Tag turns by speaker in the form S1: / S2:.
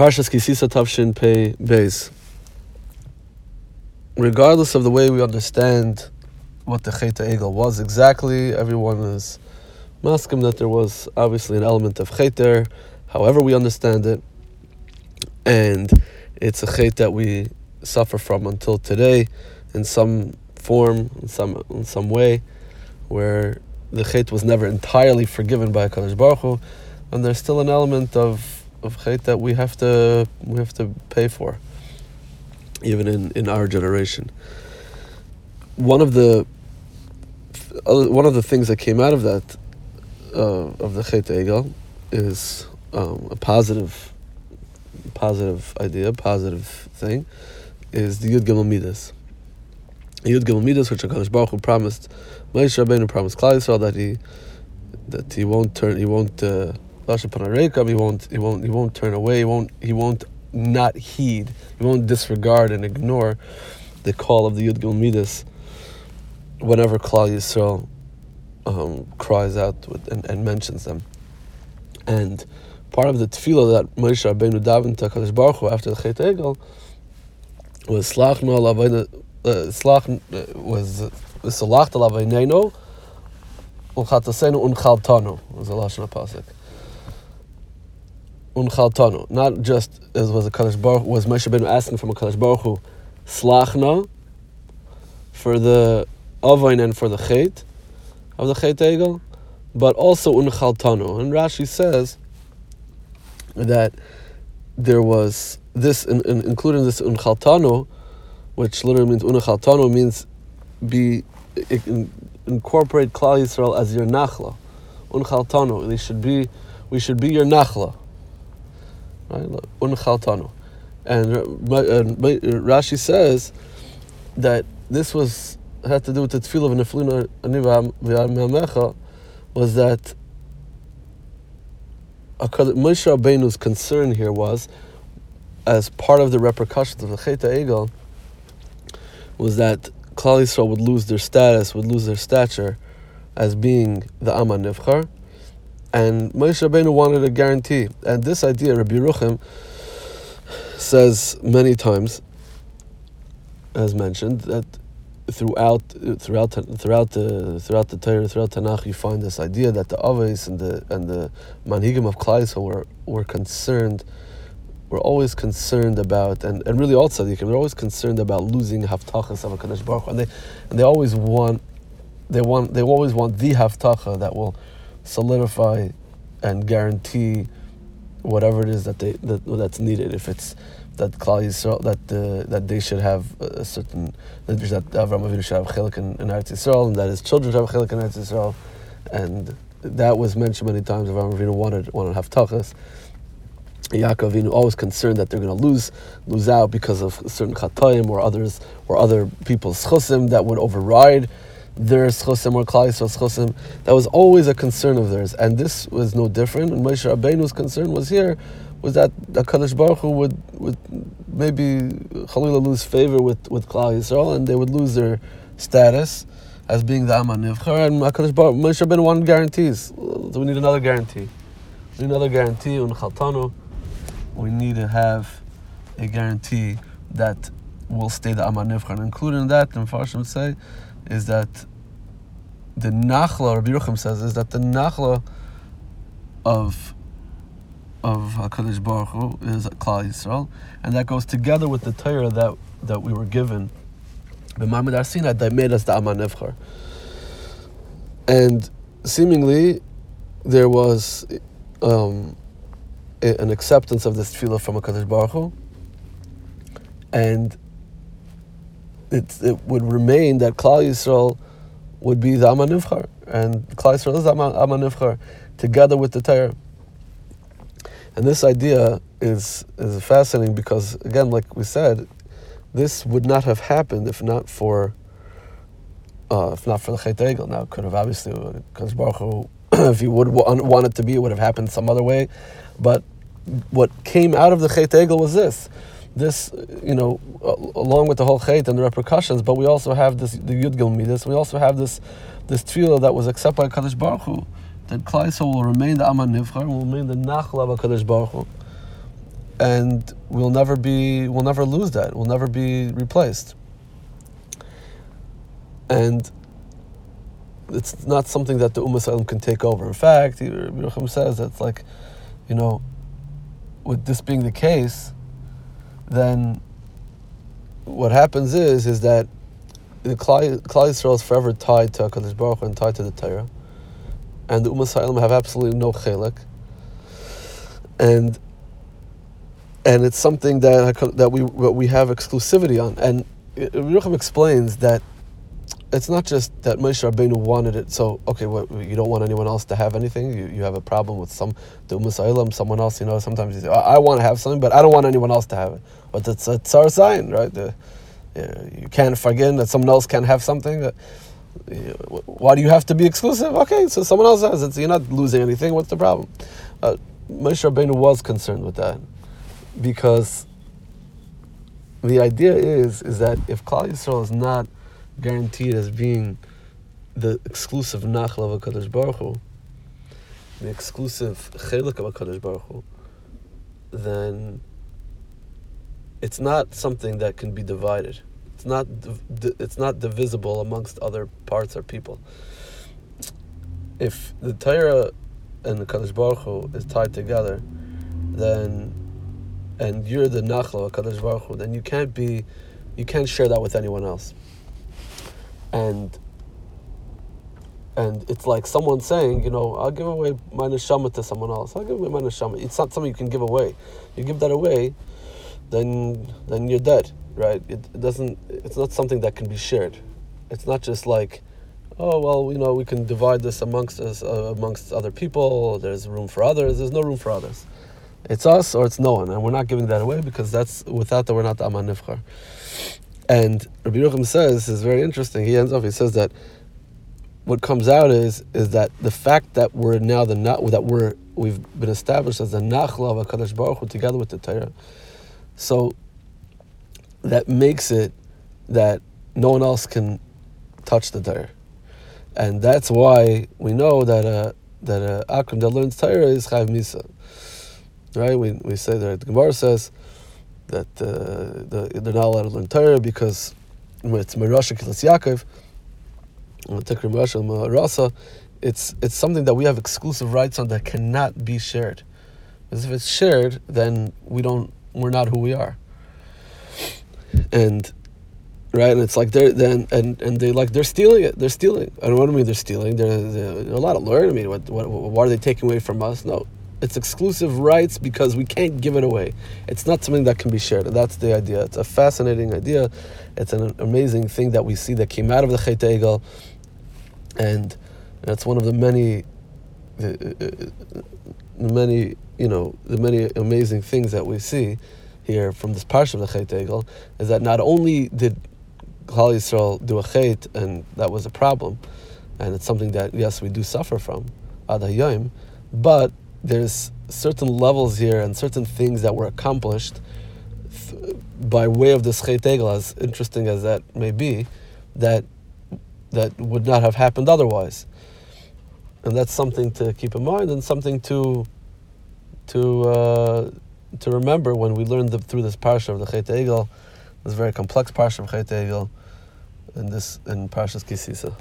S1: Parshas Kisisa Tavshin Pei Beis. Regardless of the way we understand what the Chet HaEgel was exactly, everyone is maskim that there was obviously an element of Chet there, however we understand it, and it's a Chet that we suffer from until today in some form, in some way, where the Chet was never entirely forgiven by HaKadosh Baruch Hu, and there's still an element of Chet that we have to pay for, even in our generation. One of the things that came out of that of the Chet HaEgel is a positive idea, positive thing, is the Yud Gimel Midas. The Yud Gimel Midas, which HaKadosh Baruch Hu promised, Moshe Rabbeinu promised Klal Yisrael that he won't turn away, he won't not heed, he won't disregard and ignore the call of the Yud Gimel Midas whenever Klal Yisrael cries out and mentions them. And part of the tefillah that Moshe Rabbeinu davened to HaKadosh Baruch Hu after the Chet HaEgel was Slachnu al Aveinenu U'chatasenu Unchaltanu was the Lashon HaPasuk. Unchaltanu, not just as was the Kadosh Baruch was Moshe Rabbeinu asking from a Kadosh Baruch Hu Slachna for the Avain and for the Chet of the Chet HaEgel, but also Unchaltanu. And Rashi says that there was this, including this Unchaltanu, which literally means Unchaltanu means incorporate Klal Yisrael as your Nachla. Unchaltanu, we should be your Nachla. Right? Unchaltanu. And Rashi says that this had to do with the tefillah of Neflinu Ani V'Amecha, was that Moshe Rabbeinu's concern here was, as part of the repercussions of the Chet HaEgel, was that Klal Yisrael would lose their status, would lose their stature as being the Am HaNivchar, and Moshe Rabbeinu wanted a guarantee. And this idea, Rabbi Yerucham says many times, as mentioned, that throughout the Torah, throughout Tanakh, you find this idea that the Avos and the Manhigim of Klal Yisrael were always concerned about, and really all tzaddikim, they're always concerned about losing haftachas of HaKadosh Baruch Hu, and they always want the haftacha that will solidify and guarantee whatever it is that's needed. If it's that Klal Yisrael, that they should have a certain, that Avraham Avinu should have chelik in Eretz Yisrael, and that his children should have chelik in Eretz Yisrael, and that was mentioned many times. Avraham Avinu wanted haftachas. Yaakov Avinu always concerned that they're going to lose out because of certain chatayim or other people's chosim that would override their chosim or Klal Yisrael's chosim. That was always a concern of theirs, and this was no different. And Moshe Rabbeinu's concern was that HaKadosh Baruch Hu would maybe Chalila lose favor with Klal Yisrael, and they would lose their status as being the Am HaNivchar. And HaKadosh Baruch Moshe Rabbeinu wanted guarantees. So we need another guarantee. Unchaltanu. We need to have a guarantee that will stay the Am HaNivchar. And included in that, the Mepharshim say, is that the Nachla, Rabbi Yerucham says, is that the Nachla of HaKadosh Baruch Hu is Klal Yisrael, and that goes together with the Torah that we were given, the Ma'amad Har Sinai, that made us the Am HaNivchar. And seemingly there was an acceptance of this tefillah from HaKadosh Baruch Hu, and it would remain that Klal Yisrael would be the Am HaNivchar, and Klal Yisrael is the Am HaNivchar, together with the Torah. And this idea is fascinating because, again, like we said, this would not have happened if not for the Chet HaEgel. Now, it could have obviously, because Baruch Hu, if he would want it to be, it would have happened some other way. But what came out of the Chet HaEgel was this, along with the whole Chet and the repercussions. But we also have the Yud Gimel Midas. We also have this tefillah that was accepted by Kadosh Baruch Hu, that Klal Yisrael will remain the Am HaNivchar, will remain the Nachla of HaKadosh Baruch Hu. and we'll never lose that. We'll never be replaced. And it's not something that the Ummah Yisrael can take over. In fact, Rabbi Yerucham says that's like, with this being the case, then what happens is that the Klal Yisrael is forever tied to HaKadosh Baruch Hu and tied to the Torah, and the Ummah Yisrael have absolutely no chelik, and it's something that we have exclusivity on. And Rabbi Yerucham explains that it's not just that Moshe Rabbeinu wanted it. So, okay, you don't want anyone else to have anything. You have a problem with the Ummah Yisrael, someone else. Sometimes you say, I want to have something, but I don't want anyone else to have it. But it's a tsar sign, right? You can't forget that someone else can have something. Why do you have to be exclusive? Okay, so someone else has it. So you're not losing anything. What's the problem? Moshe Rabbeinu was concerned with that, because the idea is that if Klal Yisrael is not guaranteed as being the exclusive nachla of HaKadosh Baruch Hu, the exclusive chelik of HaKadosh Baruch Hu, then it's not something that can be divided. It's not divisible amongst other parts or people. If the Torah and the HaKadosh Baruch Hu is tied together, then, and you're the nachla of HaKadosh Baruch Hu, then you can't share that with anyone else. And it's like someone saying, I'll give away my neshama to someone else. I'll give away my neshama. It's not something you can give away. You give that away, then you're dead, right? It's not something that can be shared. It's not just like, we can divide this amongst us, amongst other people. There's room for others. There's no room for others. It's us or it's no one, and we're not giving that away, because without that we're not the Aman Nivchar. And Rabbi Yerucham says, is very interesting. He says that what comes out is that the fact that we're now we've been established as the nachla of HaKadosh Baruch Hu together with the Torah, so that makes it that no one else can touch the Torah, and that's why we know that Akram that learns Torah is Chayv Misa, right? We say that the Gemara says that they're not allowed to learn Torah because it's Merasha Kilas Yaakov, it's something that we have exclusive rights on that cannot be shared. Because if it's shared, then we're not who we are. And right, and it's like they're stealing it. They're stealing. I don't know what I mean. They're stealing. They're allowed to learn. I mean, what are they taking away from us? No. It's exclusive rights because we can't give it away. It's not something that can be shared, and that's the idea. It's a fascinating idea. It's an amazing thing that we see that came out of the Chet Egel, and that's one of the many amazing things that we see here from this parsha of the Chet Egel, is that not only did Klal Yisrael do a chet, and that was a problem, and it's something that, yes, we do suffer from, ad hayom, but there's certain levels here and certain things that were accomplished by way of this Chet Egel, as interesting as that may be, that would not have happened otherwise. And that's something to keep in mind, and something to remember when we learn through this parsha of the Chet Egel, this very complex parsha of Chet Egel, in Parshas Ki Sisa.